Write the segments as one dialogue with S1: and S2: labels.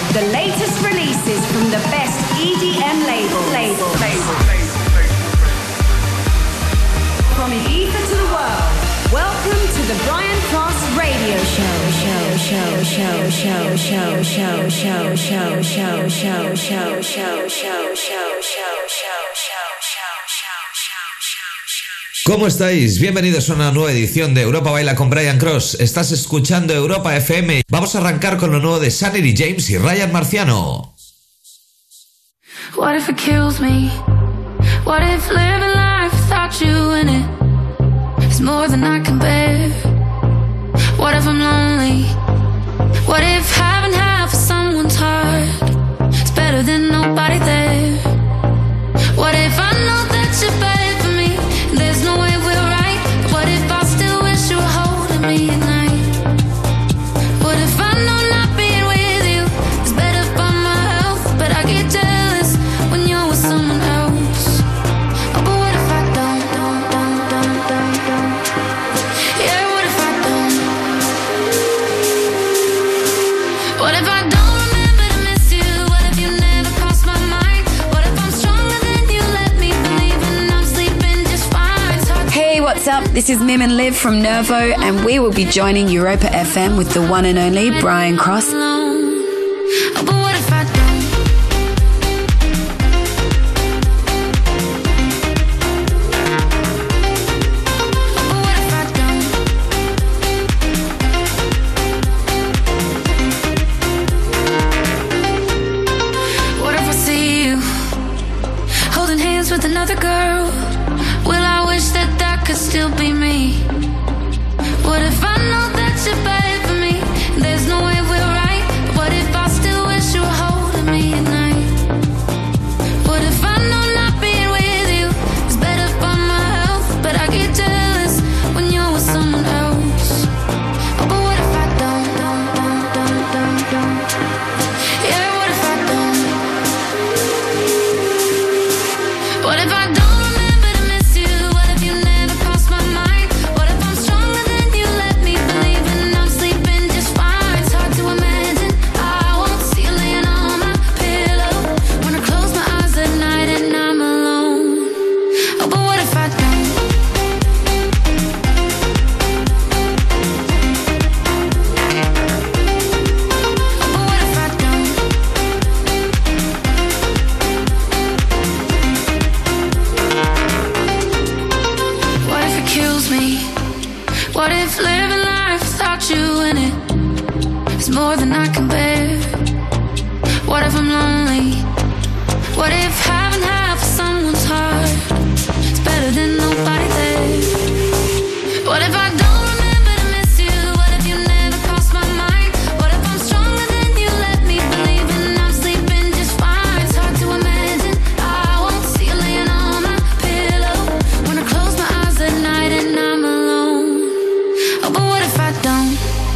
S1: The latest releases from the best EDM label. From Ibiza to the world, welcome to the Brian Cross Radio Show.
S2: ¿Cómo estáis? Bienvenidos a una nueva edición de Europa Baila con Brian Cross. Estás escuchando Europa FM. Vamos a arrancar con lo nuevo de Sanity James y Ryan Marciano.
S3: What if it kills me? What if living life without you in it is more than I can bear? What if I'm lonely? What if having half of someone's heart is better than nobody there? What if I know that you're bad for me? There's no way we're right. But what if I still wish you were holding me at night? What if I know not being with you is better for my health? But I get jealous when you're with someone else. Oh, but what if I don't? Yeah, what if I don't? What if I don't remember to miss you? What if you never crossed my mind? What if I'm stronger than you let me believe and I'm sleeping just fine? It's hard to
S1: Hey, what's up? This is Mim and Liv from Nervo, and we will be joining Europa FM with the one and only Brian Cross.
S3: alone. Oh, but what if I don't? Oh, but what if I don't? What if I see you holding hands with another girl? Will I wish that that could still be me? What if I know that you're bad for me? There's no way we're right. But what if I still wish you were holding me at night? What if I know not being with you is better for my health? But I get jealous when you're with someone else. Oh, but what if I don't? Yeah, what if I don't? What if I don't remember to miss you? What if you never crossed my mind? What if I'm stronger than you let me believe and I'm sleeping just fine? It's hard to imagine I won't see you laying on my pillow when I close my eyes at night and I'm alone. Oh, but what if I don't? Oh, but what if I don't? What if it kills me? What if living life without you in it is more than I can bear? What if I'm lonely? What if having half of someone's heart is better than nobody there? What if I don't remember to miss you? What if you never crossed my mind? What if I'm stronger than you let me believe and I'm sleeping just fine? It's hard to imagine I won't see you laying on my pillow when I close my eyes at night and I'm alone. Oh, but what if I don't?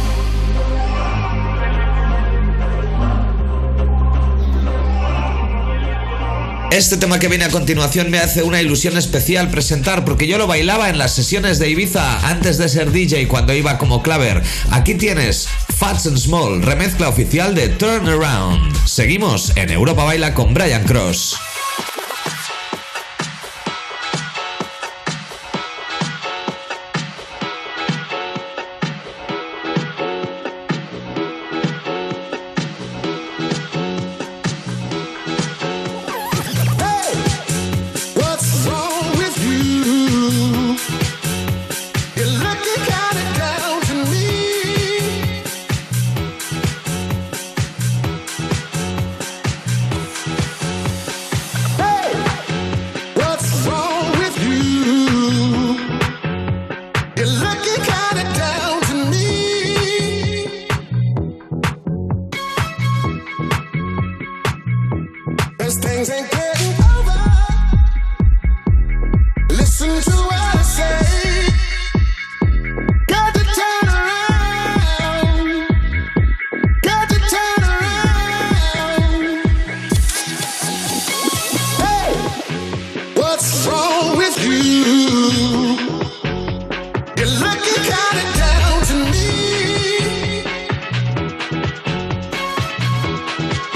S2: Este tema que viene a continuación me hace una ilusión especial presentar porque yo lo bailaba en las sesiones de Ibiza antes de ser DJ cuando iba como claver. Aquí tienes Fats and Small, remezcla oficial de Turn Around. Seguimos en Europa Baila con Brian Cross.
S4: What's wrong with you? You're looking kinda down to me. Hey, what's wrong with you? You're looking kinda down to me. 'Cause things ain't getting over. Listen to what I say. Got to turn around. Got to turn around. Hey, what's wrong with you? You're looking kinda down to me.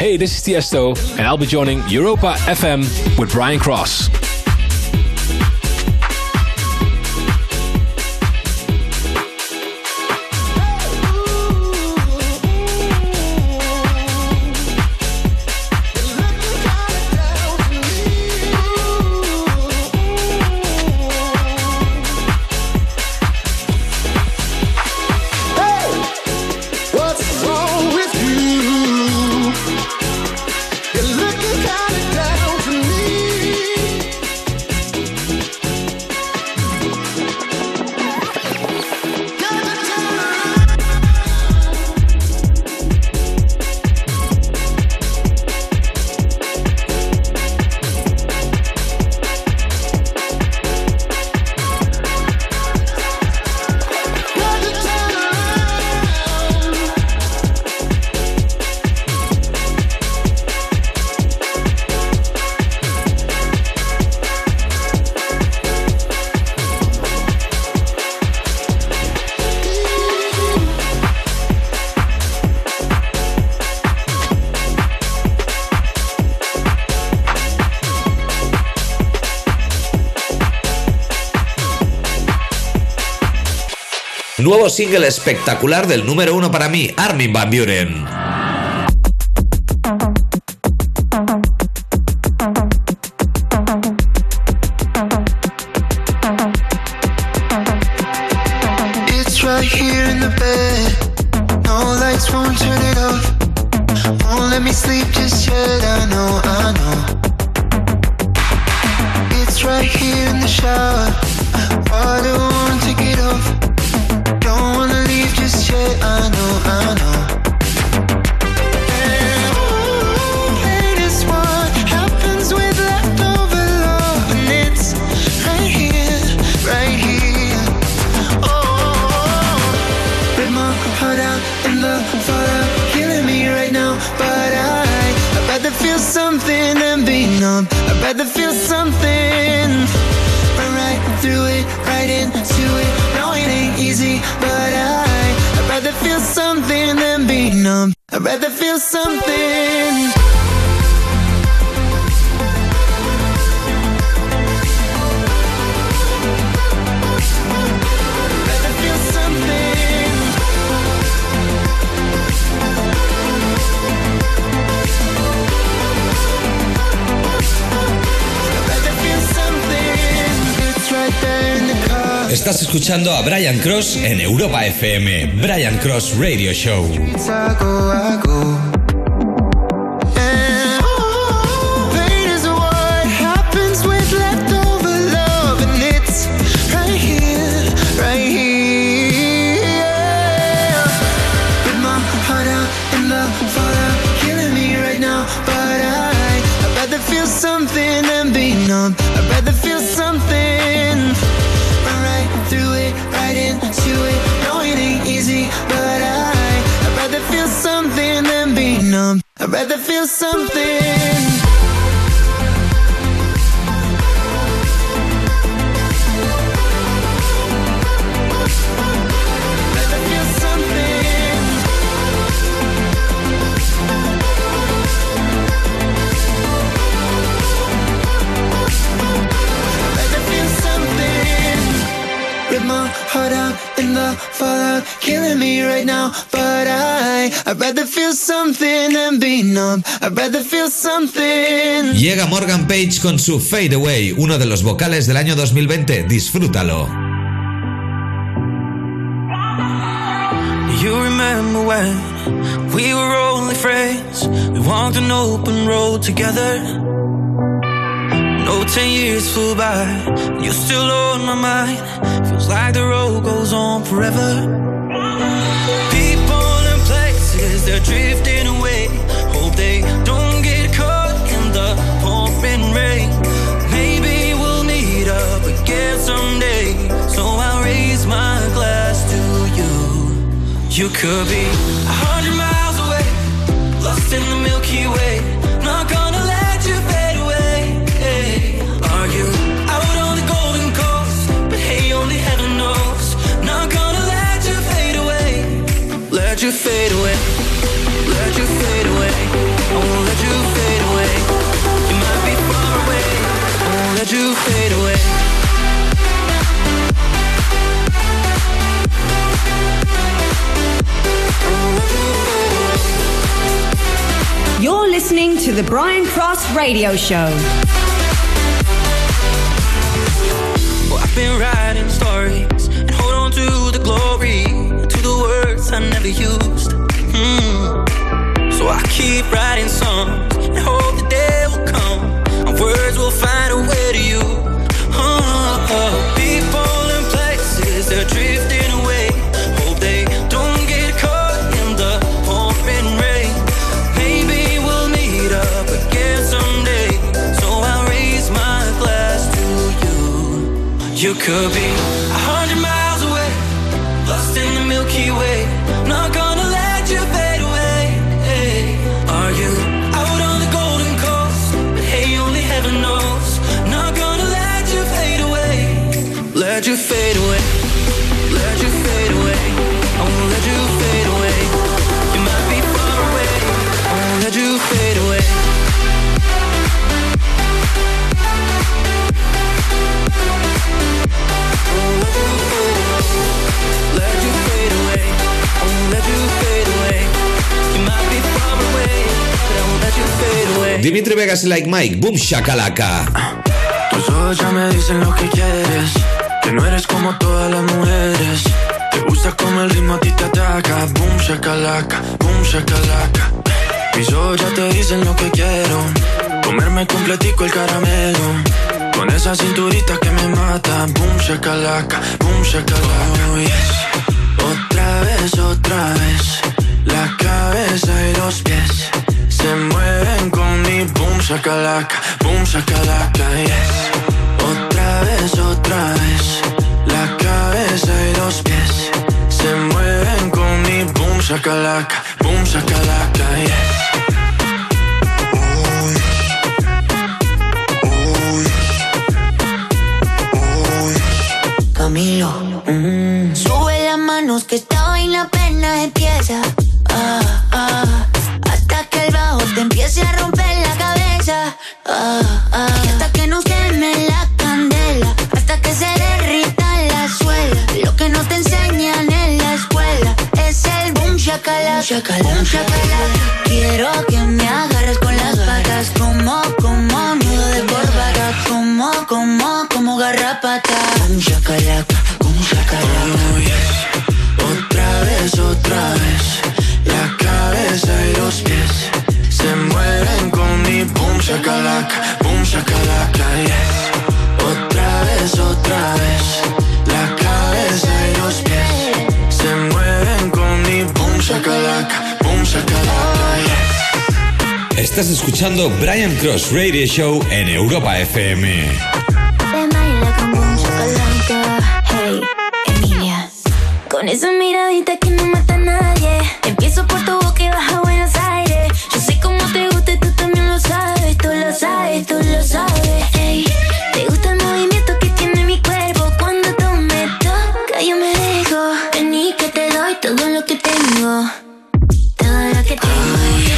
S5: Hey, this is Tiesto, and I'll be joining Europa FM with Brian Cross.
S2: Nuevo single espectacular del número 1 para mí, Armin van Buuren.
S6: It's right here in the bed. No lights, won't turn it off. Won't let me sleep just yet. I know. It's right here in the shower. Water won't take it off. Don't wanna leave just yet, I know. And hate is what happens with leftover love, and it's right here. Oh, rip my heart out in the fallout, killing me right now. But I'd rather feel something than be numb. I'd rather feel something. Run right through it, right into it. No, it ain't easy, but I'd rather feel something than be numb. I'd rather feel something.
S7: Estás escuchando a Brian Cross en Europa FM, Brian Cross Radio Show.
S6: Something and be numb. I'd rather feel something. Run right through it, right into it. No, it ain't easy, but I'd rather feel something than be numb. I'd rather feel something. Heart out in the fallout, killing me right now. But I'd rather feel something than be numb. I'd rather feel something.
S2: Llega Morgan Page con su Fade Away, uno de los vocales del año 2020. Disfrútalo.
S8: You remember when we were only friends? We walked an open road together. No, 10 years flew by, and you're still on my mind. Feels like the road goes on forever. People and places, they're drifting away. Hope they don't get caught in the pouring rain. Maybe we'll meet up again someday. So I'll raise my glass to you. You could be 100 miles away, lost in the Milky Way. Not gonna let you fade away. Are you out on the golden coast? But hey, only heaven knows. Not gonna let you fade away. Let you fade away. Let you fade away. I won't
S1: to the Brian Cross Radio Show.
S8: Well, I've been writing stories and hold on to the glory, to the words I never used. So I keep writing songs and hope the day will come and words will find a way to you. People and places, they're drifting away. Hope they don't get caught in the pouring rain. Maybe we'll meet up again someday. So I'll raise my glass to you. You could be 100 miles away, lost in the Milky Way. Not gonna let you fade away. Hey, are you out on the Golden Coast? But hey, only heaven knows. Not gonna let you fade away. Let you fade away. Let you fade away. I won't let you fade away. You might be far away. I won't let you fade away. Let you fade away. I won't let you fade away. You might be far away, but I won't let you fade away.
S2: Dimitri Vegas y Like Mike, boom shakalaka.
S6: Tus ojos ya me dicen lo que quieres, que no eres como todas las mujeres. Te gusta como el ritmo a ti te ataca. Boom shakalaka, boom shakalaka. Mis ojos ya te dicen lo que quiero, comerme completico el caramelo, con esa cinturita que me mata. Boom shakalaka, boom shakalaka. Oh, yes. Otra vez, la cabeza y los pies se mueven con mi boom shakalaka, yes. Otra vez, la cabeza y los pies se mueven con mi boom shakalaka, yes.
S9: Camilo, sube las manos que esta vaina apenas empieza. Hasta que el bajo te empiece a romper la cabeza. Y hasta que nos queme la candela, hasta que se derrita la suela. Lo que no te enseñan en la escuela es el boom shakalaka, boom shakalaka. Quiero que me agarres con las patas, como nudo de corbata, como garrapata. Boom shakalaka, boom shakalaka.
S6: Oh, yes. Otra vez, la cabeza y los pies se mueven con mi boom shakalaka, yes. Otra vez, la cabeza y los pies se mueven con mi boom shakalaka, yes.
S7: Estás escuchando Brian Cross Radio Show en Europa FM.
S9: Hey, Emilia, con esa miradita que no mata a nadie. Empiezo por tu boca y baja a Buenos Aires. Yo sé cómo te gusta y tú también lo sabes. Tú lo sabes. Hey, te gusta el movimiento que tiene mi cuerpo. Cuando tú me tocas yo me dejo. Vení que te doy todo lo que tengo. Todo lo que tengo.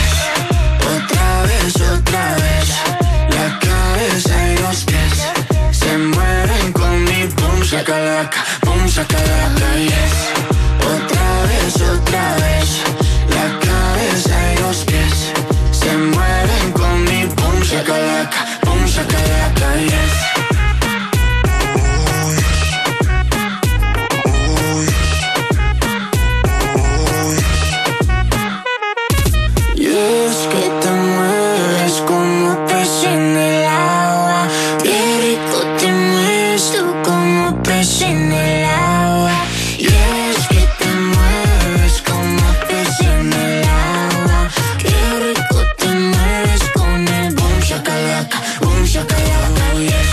S6: Otra vez, la cabeza y los pies se mueven con mi boom shakalaka, yes. Otra vez, la cabeza y los pies se mueven con mi boom shakalaka, yes. Y es que te mueves como pez en el agua. Qué rico te mueves tú como pez en el agua. Y es que te mueves como pez en el agua. Qué rico te mueves con el boom shakalaka, yes.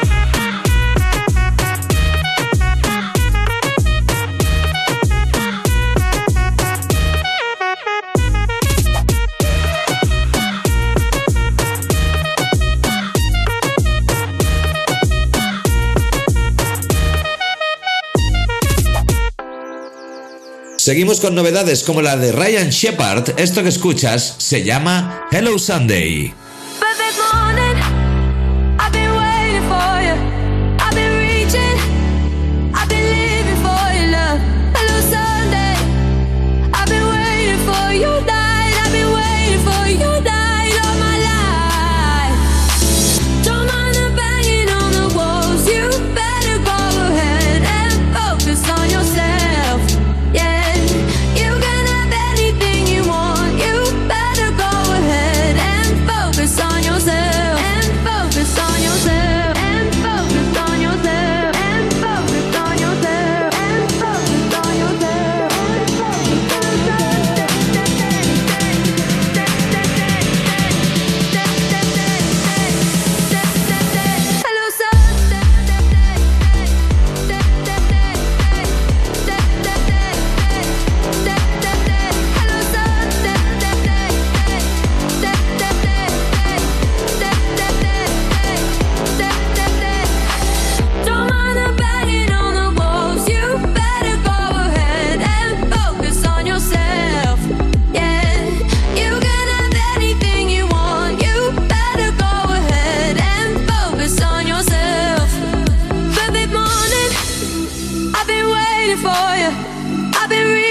S2: Seguimos con novedades como la de Ryan Shepherd. Esto que escuchas se llama Hello Sunday.
S3: Perfect morning, I've been waiting for you. I've been reaching, I've been living for your love. Hello Sunday, I've been waiting for your night. I've been waiting for your night all my life.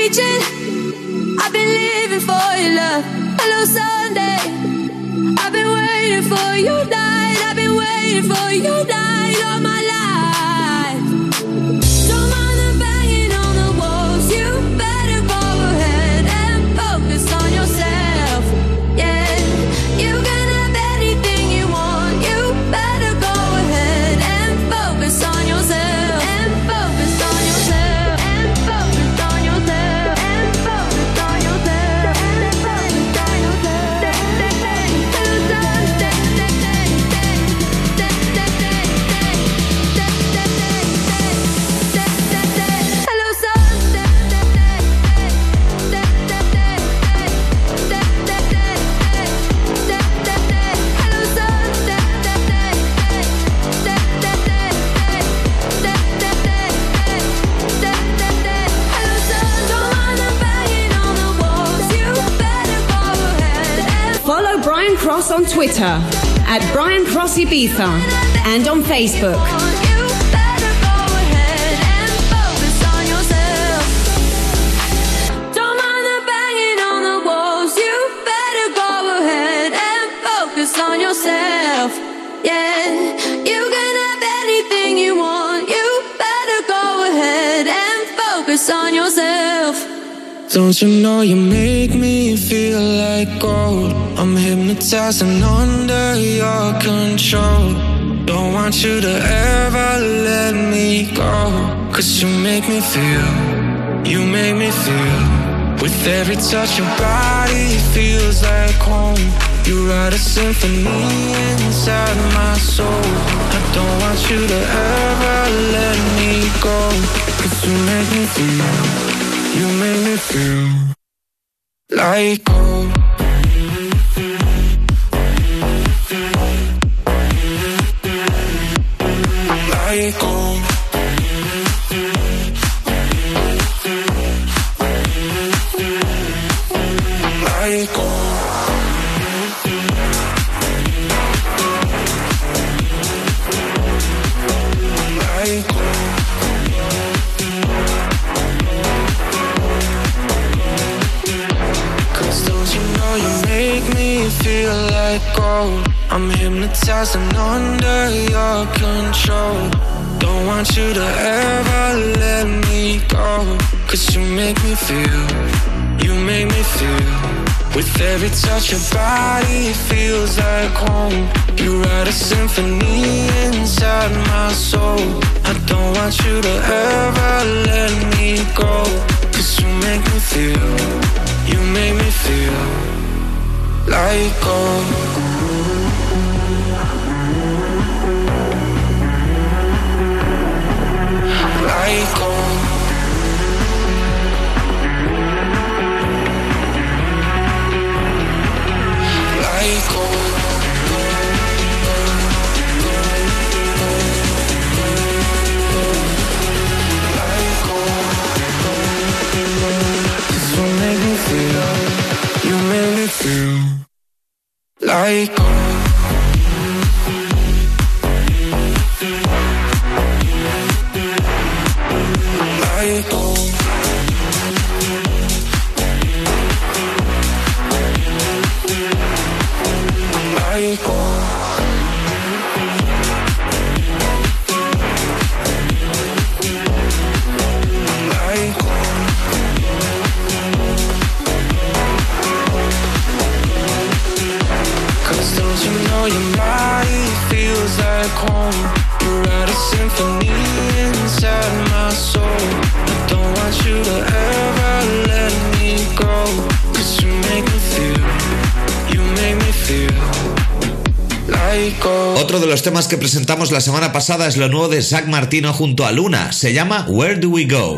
S3: reaching. I've been living for your love. Hello Sunday. I've been waiting for you night. I've been waiting for you night all my life. Don't mind the banging on the walls. You better go ahead and focus on yourself. Yeah, you can have anything you want. You better go ahead and focus on yourself. And focus on yourself. And focus on yourself. And focus on yourself. And focus on yourself.
S10: Follow Brian Cross on Twitter at Brian Cross Ibiza and on Facebook.
S3: On yourself, yeah. You can have anything you want. You better go ahead and focus on yourself.
S6: Don't you know you make me feel like gold? I'm hypnotized and under your control. Don't want you to ever let me go. 'Cause you make me feel, you make me feel. With every touch your body feels like home. You write a symphony inside my soul. I don't want you to ever let me go. 'Cause you make me feel, you make me feel like gold. Like gold. Like gold. Feel like gold. I'm hypnotized and under your control. Don't want you to ever let me go. 'Cause you make me feel, you make me feel. With every touch your body feels like home. You write a symphony inside my soul. I don't want you to ever let me go. 'Cause you make me feel, you make me feel like gold. Like gold. Like gold. Like gold. 'Cause you make me feel, you make me feel like gold. Like gold. Like gold. Like gold. Don't you know your body feels like home? You write a symphony inside my soul. I don't want you to ever let me go. 'Cause you make me feel, you make me feel like gold.
S2: Otro de los temas que presentamos la semana pasada es lo nuevo de Zach Martino junto a Luna. Se llama Where Do We Go?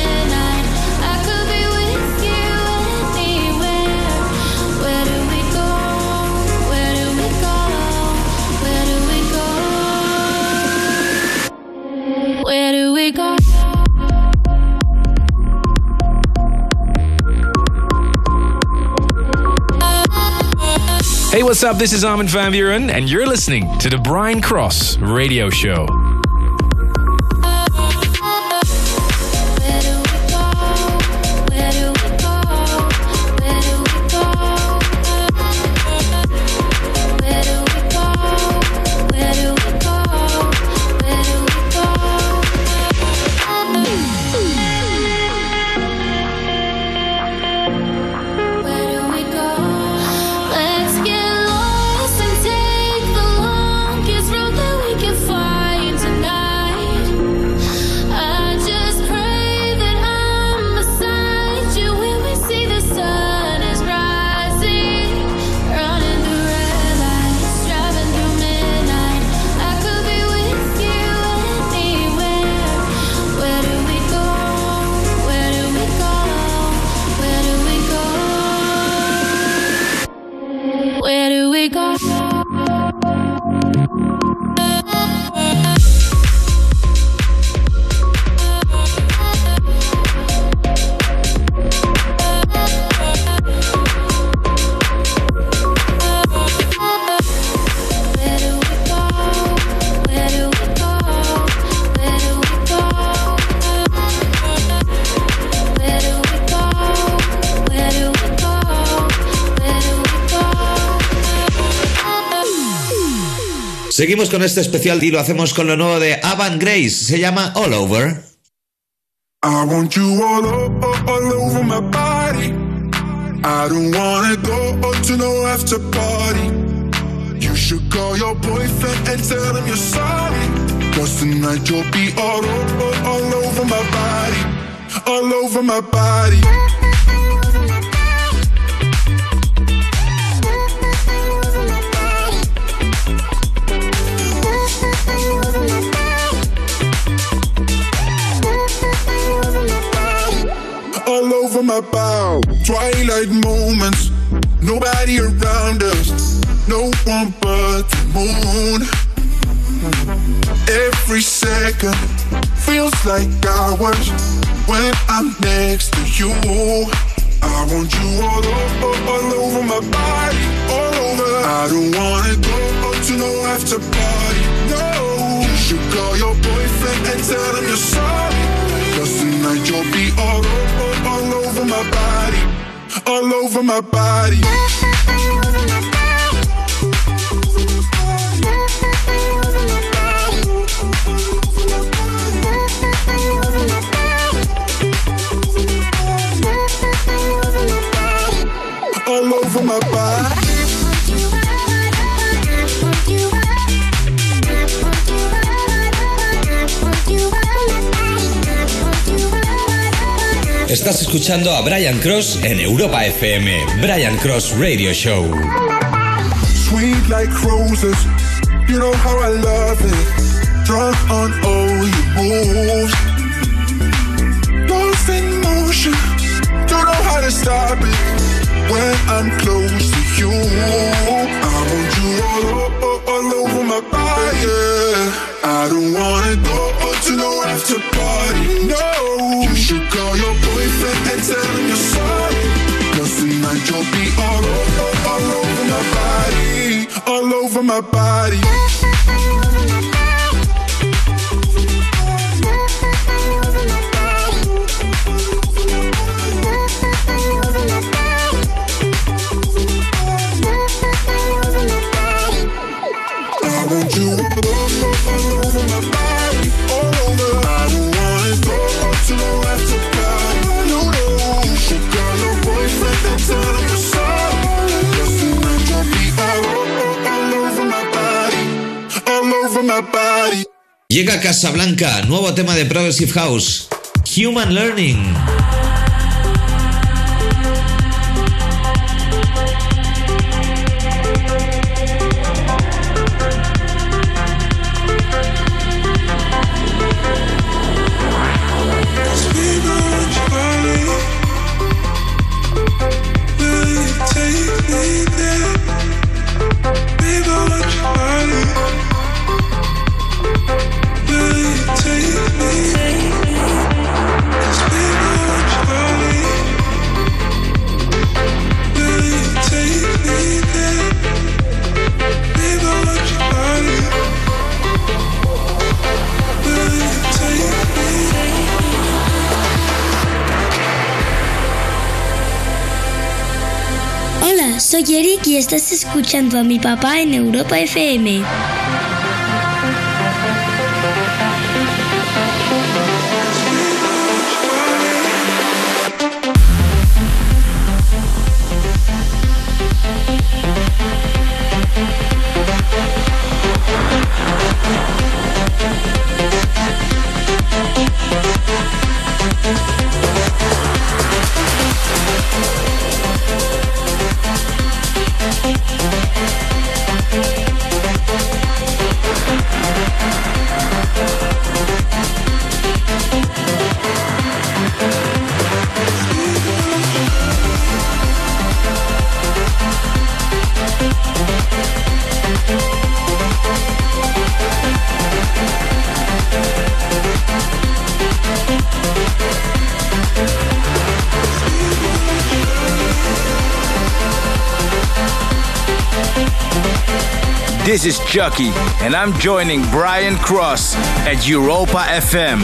S3: Where do we go?
S5: Hey, what's up? This is Armin van Buuren, and you're listening to the Brian Cross Radio Show.
S2: Seguimos con este especial y lo hacemos con lo nuevo de Avant Grace. Se llama All Over.
S4: I want you all over my body. I don't wanna go to no after party. You should call your boyfriend and tell him you're sorry. 'Cause tonight you'll be all over my body. All over my body. All over my bow. Twilight moments, nobody around us, no one but the moon. Every second feels like hours when I'm next to you. I want you all over my body, all over. I don't wanna go to no after party, no. You should call your boyfriend and tell him you're sorry. 'Cause tonight you'll be all over my body, all over my body. All over my body.
S7: Estás escuchando a Brian Cross en Europa FM. Brian Cross Radio Show.
S4: Sweet like roses, you know how I love it. Drunk on all your moves. Lost in motion, don't know how to stop it. When I'm close to you, I want you all over my body. Yeah. I don't wanna go to no after party, no. You should call your boyfriend and tell him you're sorry. 'Cause tonight you'll be all over my body, all over my body. I want you all over my body, all over. I don't wanna go to no after party, no, no. You should call your boyfriend and tell him you're sorry. 'Cause tonight you'll be all over my body, all over my body.
S2: Llega Casablanca, nuevo tema de Progressive House, Human Learning.
S4: Take me, 'cause baby,
S11: soy Eric y estás escuchando a mi papá en Europa FM.
S12: This is Chucky, and I'm joining Brian Cross at Europa FM.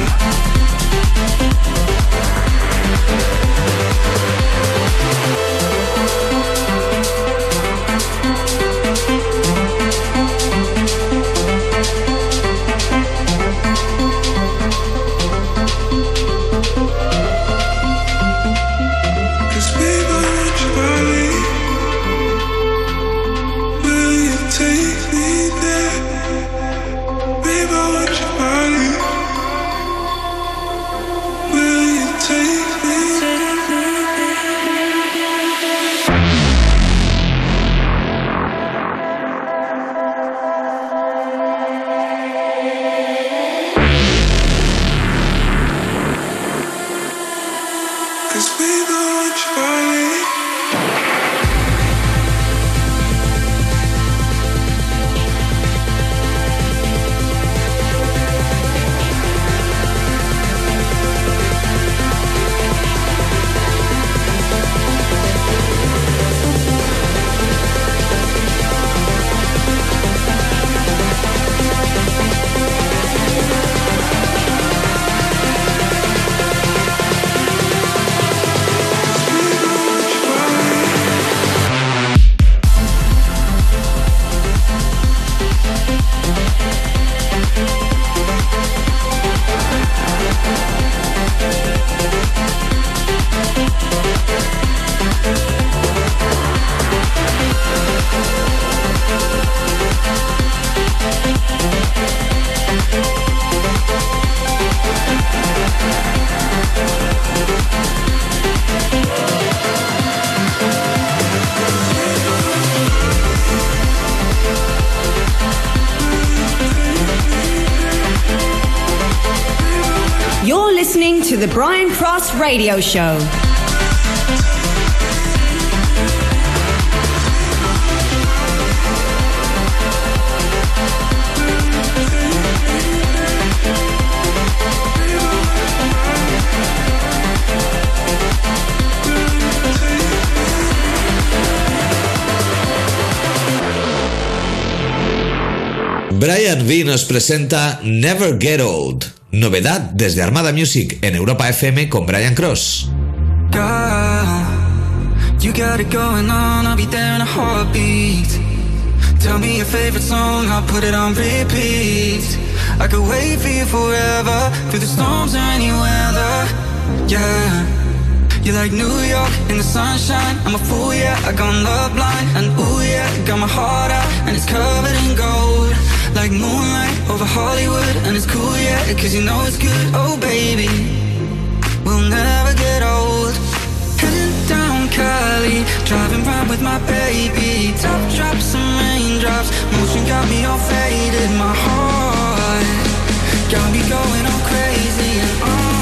S10: To the Brian Cross Radio Show.
S2: Brian V nos presenta Never Get Old. Novedad desde Armada Music en Europa FM con Brian Cross.
S8: Girl, you got it going on, I'll be there in a heartbeat. Tell me your favorite song, I'll put it on repeat. I could wait for you forever, through the storms or any weather. Yeah, you're like New York in the sunshine. I'm a fool, yeah, I gone love blind. And ooh yeah, got my heart out and it's covered in gold. Like moonlight over Hollywood, and it's cool, yeah, cause you know it's good. Oh baby, we'll never get old. Heading down Cali, driving round with my baby. Top drops and raindrops, motion got me all faded. My heart got me going all crazy, and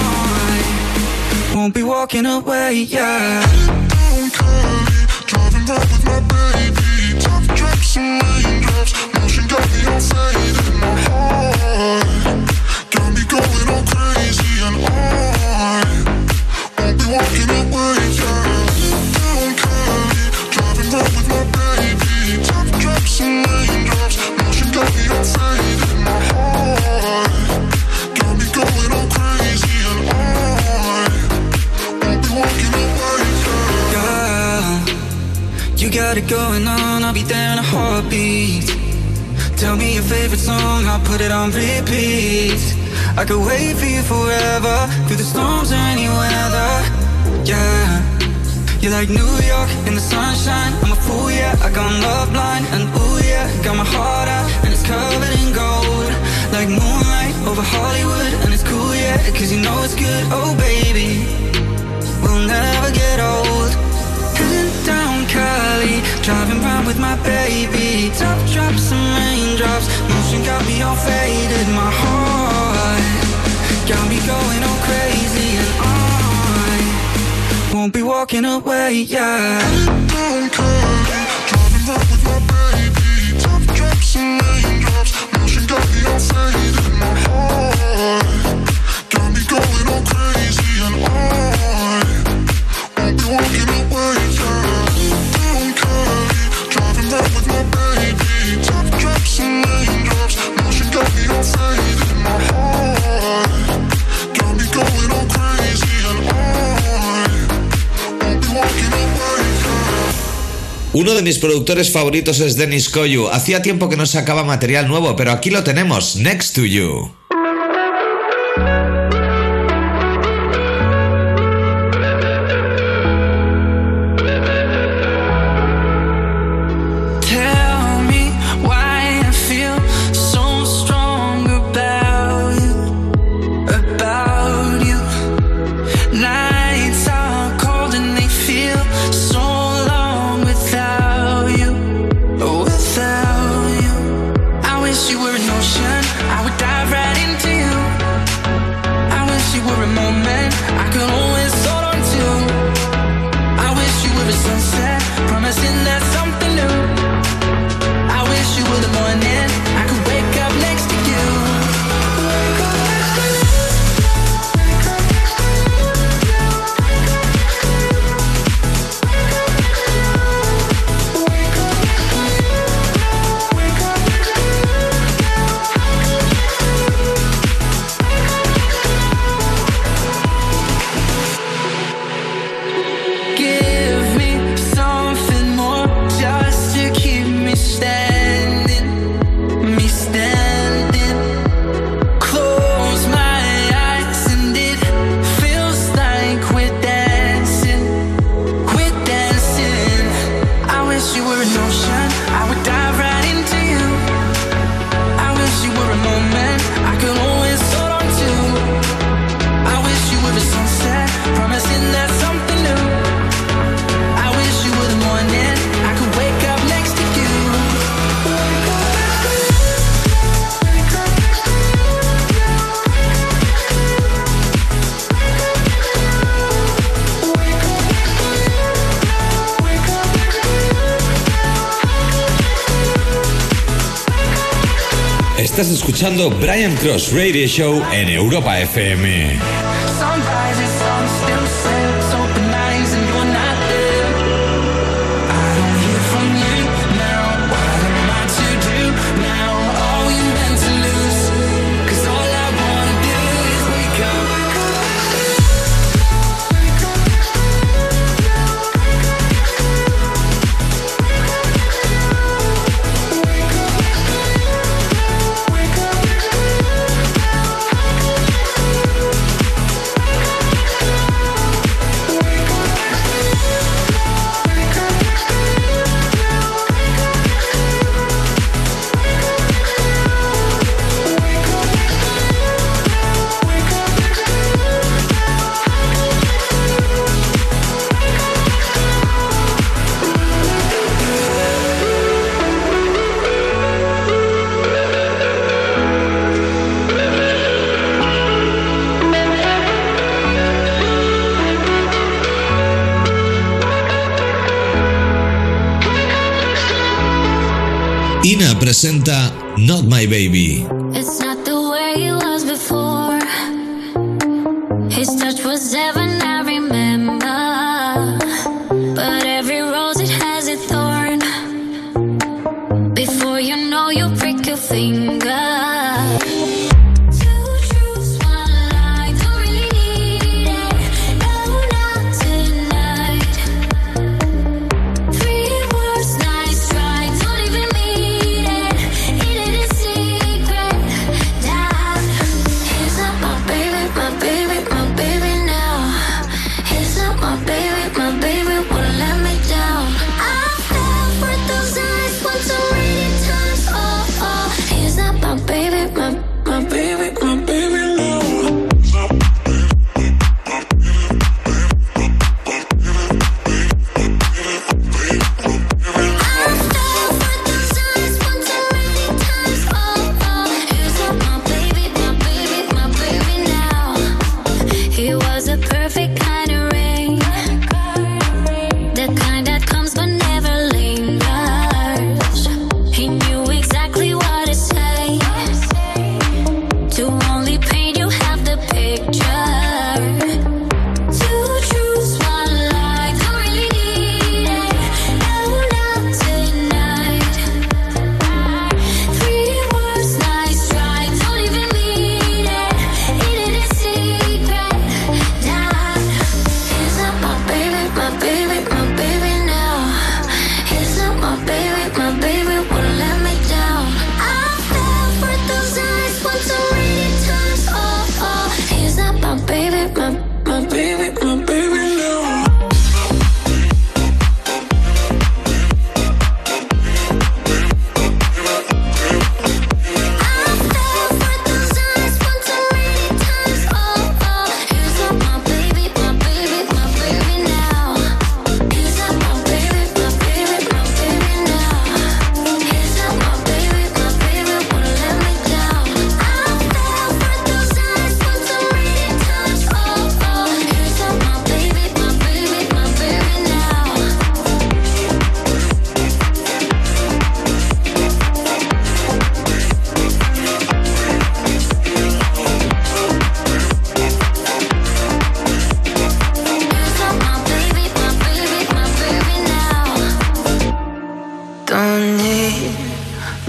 S8: I won't be walking away, yeah.
S4: Down Cali, driving round with my baby. Top drops and raindrops, motion got me all faded. My heart got me going all crazy, and I won't be walking away, yeah. Down Cali, driving round with my baby. Top drops and raindrops, motion got me all faded. My heart got me going all crazy, and I won't be walking away, yeah.
S8: Girl, you got it it going on, I'll be there in a heartbeat. Tell me your favorite song, I'll put it on repeat. I could wait for you forever, through the storms or any weather. Yeah, you're like New York in the sunshine. I'm a fool, yeah, I got love blind. And ooh yeah, got my heart out and it's covered in gold. Like moonlight over Hollywood, and it's cool, yeah, cause you know it's good. Oh baby, we'll never get old. Heading down Cali, driving round with my baby. Top drops and raindrops, motion got me all faded. My heart got me going all crazy, and I won't be walking away, yeah.
S4: Heading down Cali, driving round with my baby. Top drops and raindrops, motion got me all faded. My heart got me going all crazy, and I won't be walking away, yeah. Down Cali, driving round with my baby. Top drops and raindrops, motion got me all faded. My heart got me going all crazy, and I won't be walking away, yeah.
S2: Uno de mis productores favoritos es Dennis Koyu. Hacía tiempo que no sacaba material nuevo, pero aquí lo tenemos, Next to You.
S7: Estás escuchando Brian Cross Radio Show en Europa FM.
S2: Ina presenta Not My Baby.
S9: It's not the way it was before. His touch was heaven, I remember. But every rose, it has a thorn. Before you know, you prick your finger.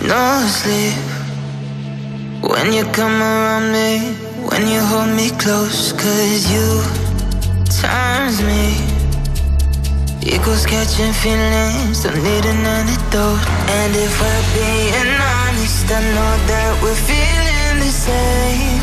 S6: no sleep. When you come around me, when you hold me close, 'cause you turns me. Equals catching feelings, don't need an antidote. And if we're being honest, I know that we're feeling the same.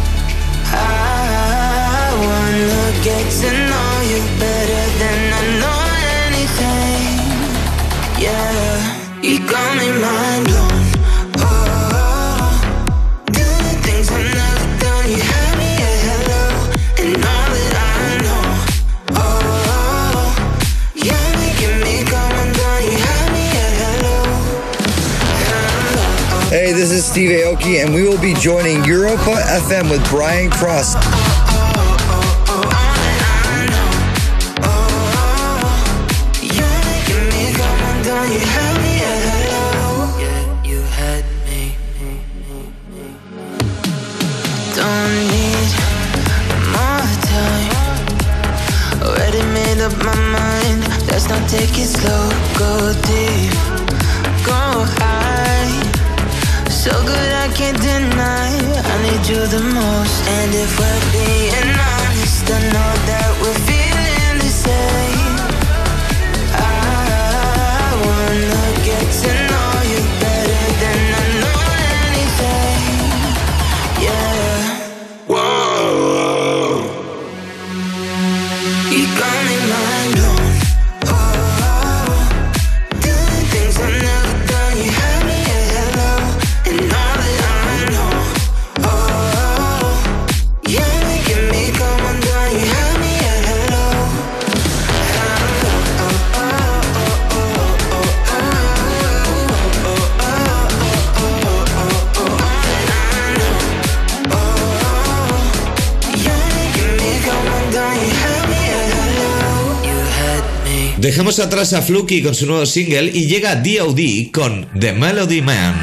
S6: I wanna get to know you better than I know anything. Yeah, you got me mind blown. Oh, doing things I've never done. You had me at hello, and all that I know. Oh, you're making me come undone. You had me at hello.
S13: Hey, this is Steve Aoki, and we will be joining Europa FM with Brian Cross.
S6: Up my mind, let's not take it slow. Go deep, go high. So good I can't deny, I need you the most. And if we're being honest, I know that we're feeling the same. I wanna get to know you better than I know anything. Yeah. Whoa, you got me mind blown. Oh, doing things I've never done. You had me at hello, and all that I know. Oh, you're making me come undone. You had me at hello.
S2: Dejemos atrás a Fluky con su nuevo single y llega D.O.D. con The Melody Man.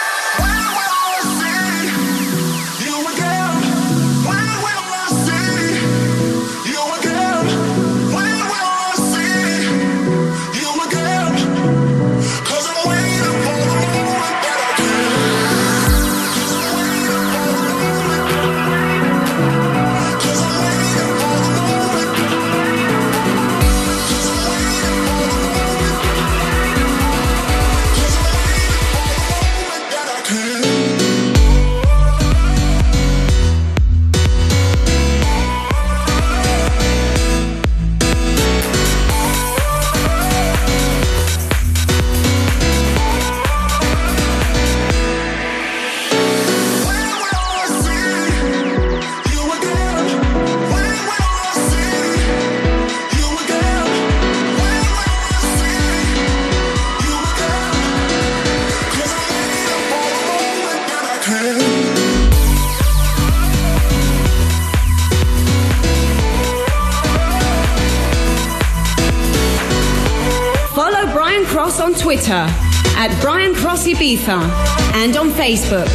S10: On Twitter at Brian Cross Ibiza and on Facebook.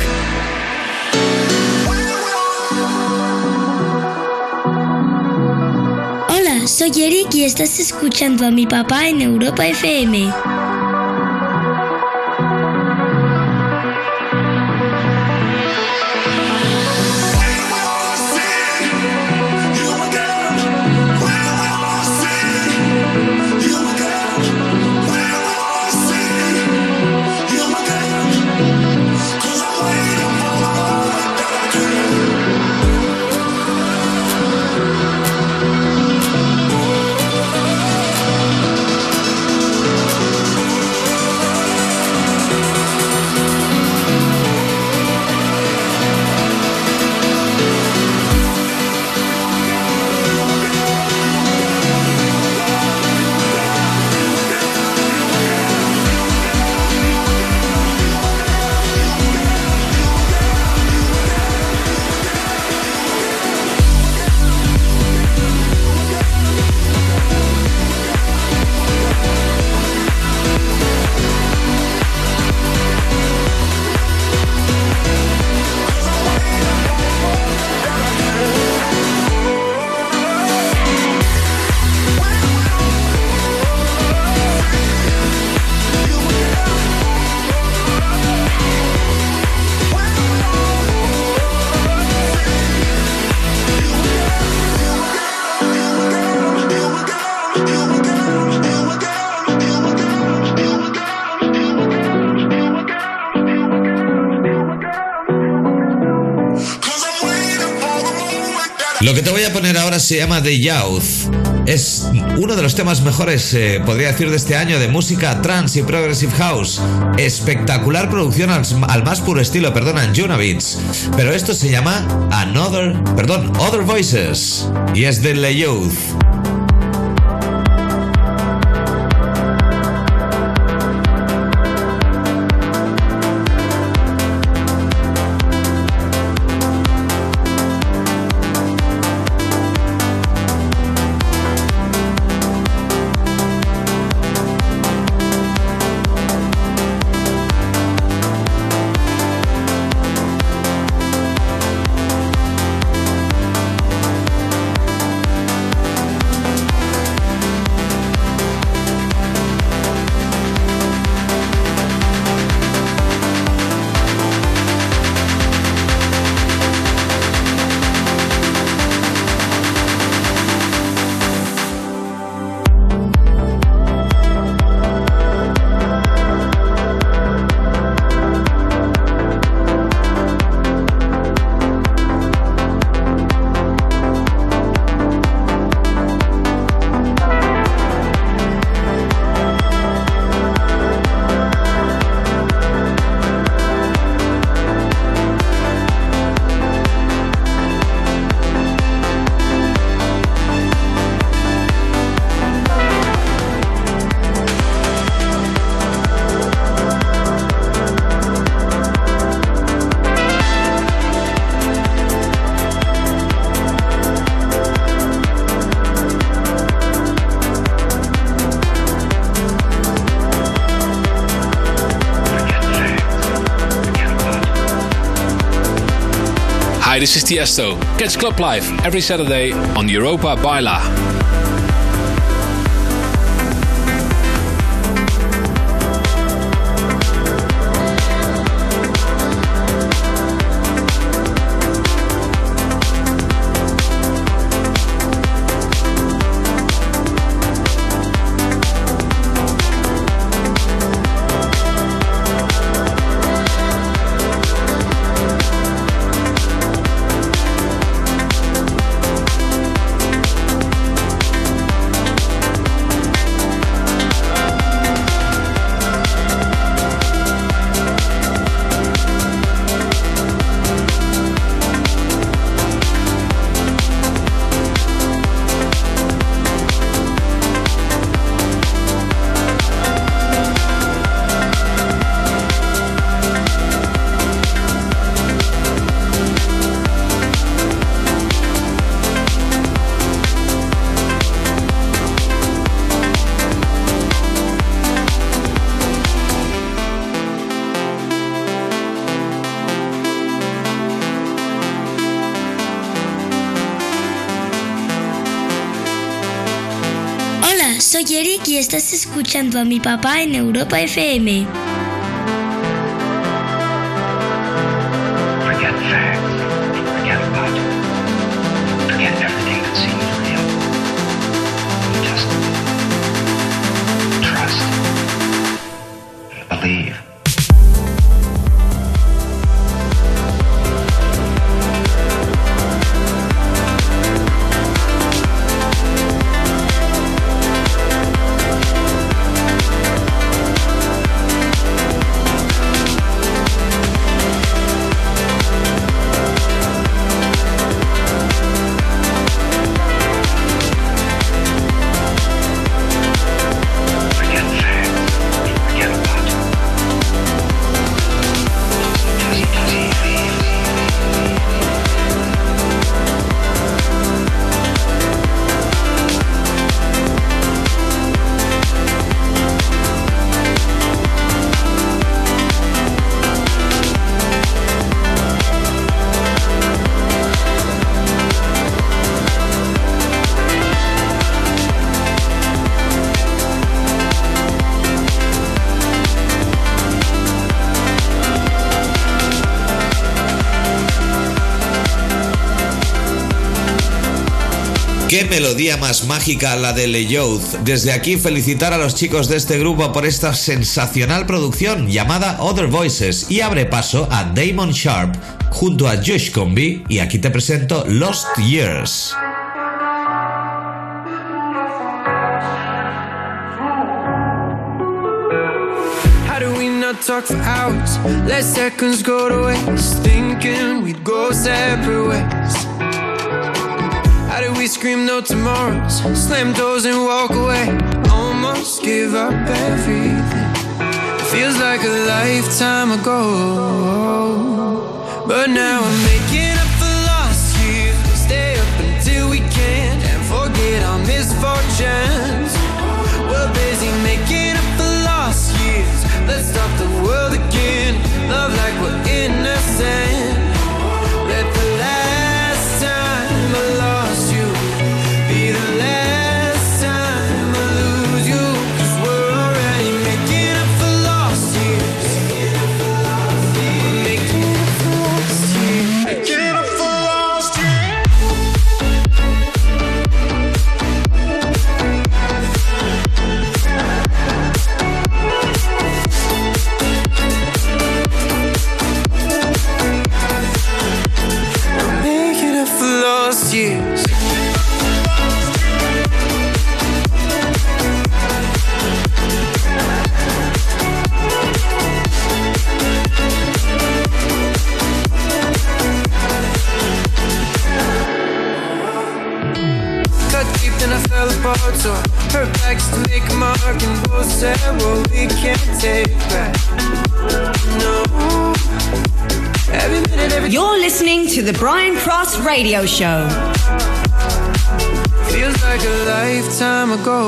S11: Hola, soy Eric y estás escuchando a mi papá en Europa FM.
S2: Lo que te voy a poner ahora se llama The Youth. Es uno de los temas mejores, podría decir, de este año de música trance y progressive house. Espectacular producción al más puro estilo, en Junavits. Pero esto se llama Other Voices. Y es de The Youth.
S5: Hi, this is Tiesto. Catch Club Live every Saturday on Europa Baila.
S11: Soy Eric y estás escuchando a mi papá en Europa FM.
S14: Forget facts, forget logic, forget everything that seems real. Just trust and believe.
S2: Qué melodía más mágica la de Le Youth. Desde aquí felicitar a los chicos de este grupo por esta sensacional producción llamada Other Voices y abre paso a Damon Sharp junto a Josh Combi y aquí te presento Lost Years.
S15: How do we not talk for hours? Let seconds go to waste, thinking we'd go separate ways. How do we scream no tomorrows, slam doors and walk away, almost give up everything? It feels like a lifetime ago, but now I'm making up for lost years. We'll stay up until we can't and forget our misfortunes. We're busy making up for lost years. Let's stop the world again, love like we're innocent. Let the last time I lost you be the last time I lose you, 'cause we're already making up for lost years. We're making up for lost years. Making up for lost years. Making up for lost years. Cut deep, then I fell apart, so I hurt back just to make a mark, and both said what we can't take back. No. Every minute, every
S10: You're listening to the Brian Cross Radio Show.
S15: feels like a lifetime ago,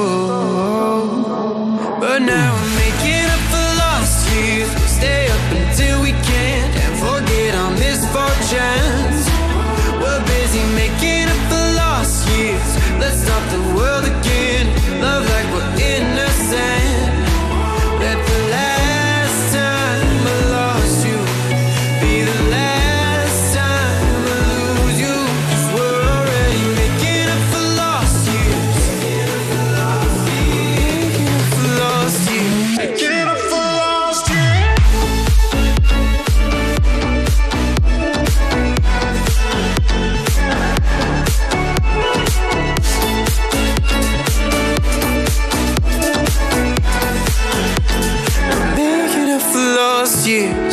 S15: but now I'm making up for lost years. We'll stay up until we can't and forget our misfortunes. We're busy making up for lost years. Let's stop the world again, love like we're innocent. Let the last time I lost you be the last time I lose you, 'cause we're already making up for lost years. Making up for lost years. Making up for lost years. Making up for lost years.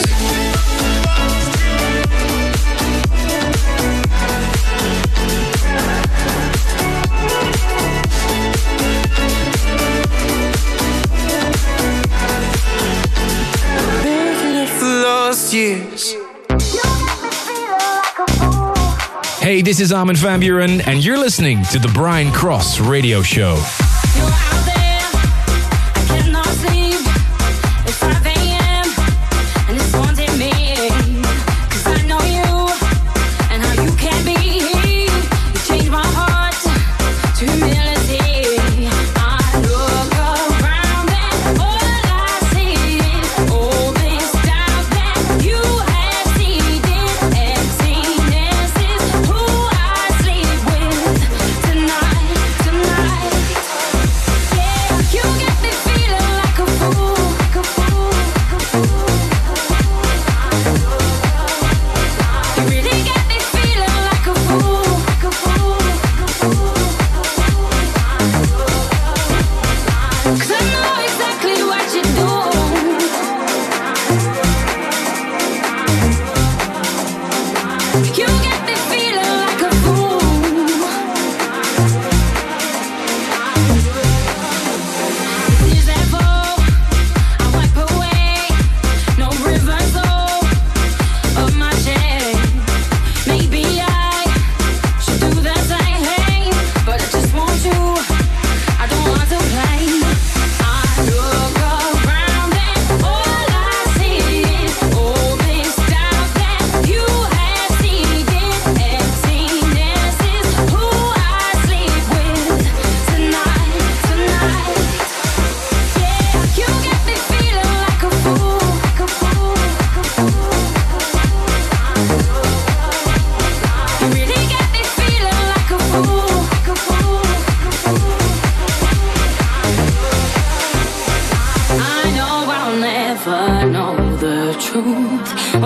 S15: Making up for lost years.
S5: Hey, this is Armin van Buuren, and you're listening to the Brian Cross Radio Show.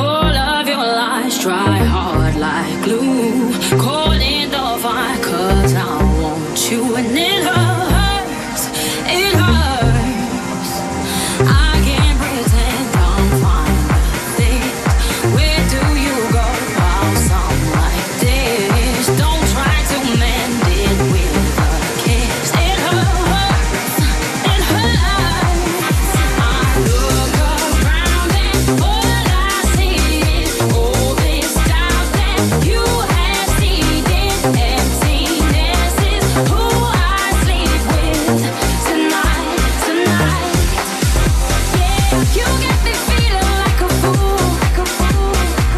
S3: All of your lies dry hard like glue. Calling the fire 'cause I want you and it hurts. It hurts. I can't pretend I'm fine with this. Where do you go while some like this? Don't try to mend it with a kiss. It hurts. It hurts. I look around and all I see is all this doubt that you have seeded. Emptiness is who I sleep with tonight, tonight. Yeah, you get me feeling like a fool, like a fool.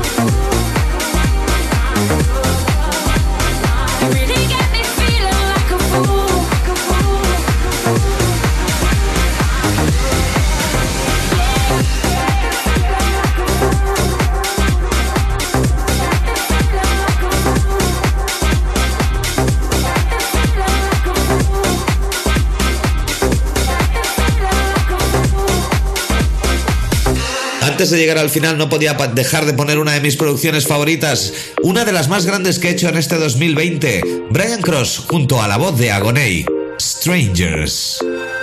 S3: You really get me feeling like a fool, like a fool.
S2: Antes de llegar al final no podía dejar de poner una de mis producciones favoritas, una de las más grandes que he hecho en este 2020, Brian Cross junto a la voz de Agoney, Strangers.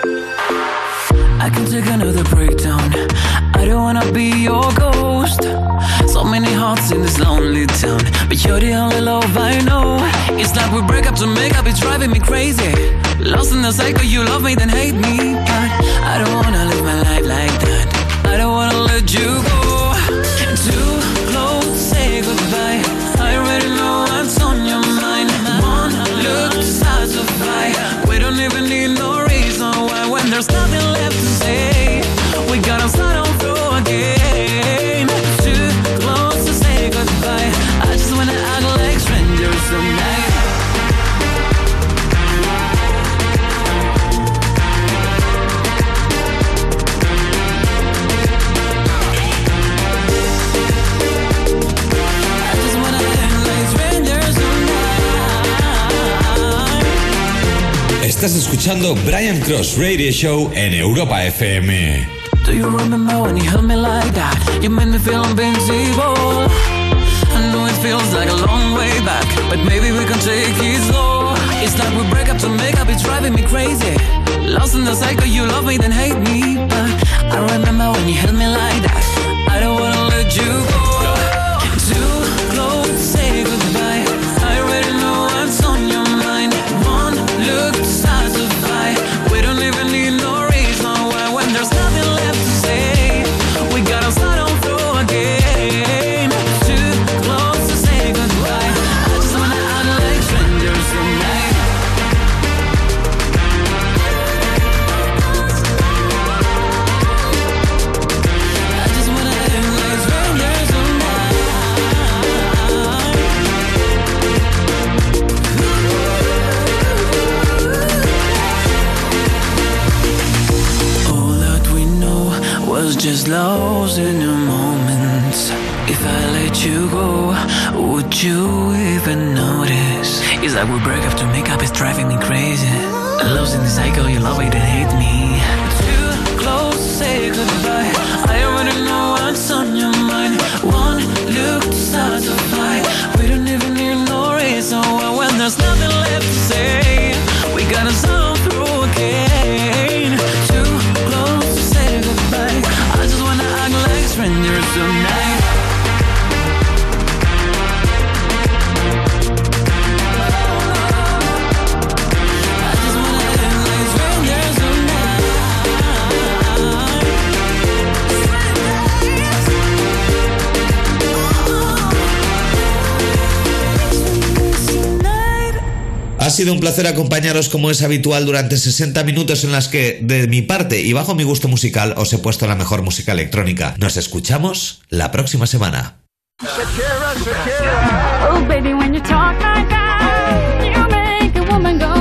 S15: I can take another breakdown. I don't wanna be your ghost. So many hearts in this lonely town, but you're the only love I know. It's like we break up to make up, it's driving me crazy. Lost in the cycle, you love me then hate me, but I don't wanna live my life like that. I don't wanna let you go. Too close, say goodbye. I already know what's on your mind. One look to satisfy. We don't even need no reason why. When there's nothing left to say, we gotta start on through again. Too close to say goodbye. I just wanna act like strangers tonight.
S7: Estás escuchando Brian Cross Radio Show en Europa FM.
S15: Do you remember when you held me like that? You made me feel invincible. I know it feels like a long way back, but maybe we can take it slow. It's like we break up to make up, it's driving me crazy. Lost in the cycle, you love me then hate me, but I remember when you held me like that. I don't wanna let you go. Too close, say goodbye. I already know what's on your mind. One look to satisfy. We don't even need no reason why. When there's nothing left to say, we gotta start on through again. Too close to say goodbye. I just wanna act like strangers tonight. I just wanna act like strangers tonight. All that we know was just lost in a moment. If I let you go, would you even notice? It's like we break up to make up, it's driving me crazy. Lost in the cycle, you love it and hate me. Too close, say goodbye. I already know what's on your mind. One look to satisfy. We don't even need no reason why. When there's nothing left to say, we gotta start through again. Too close to say goodbye. I just wanna act like strangers tonight. I just wanna act like strangers tonight.
S2: Ha sido un placer acompañaros como es habitual durante 60 minutos en las que, de mi parte y bajo mi gusto musical, os he puesto la mejor música electrónica. Nos escuchamos la próxima semana.
S3: Oh, baby, when you talk like that, you make a woman go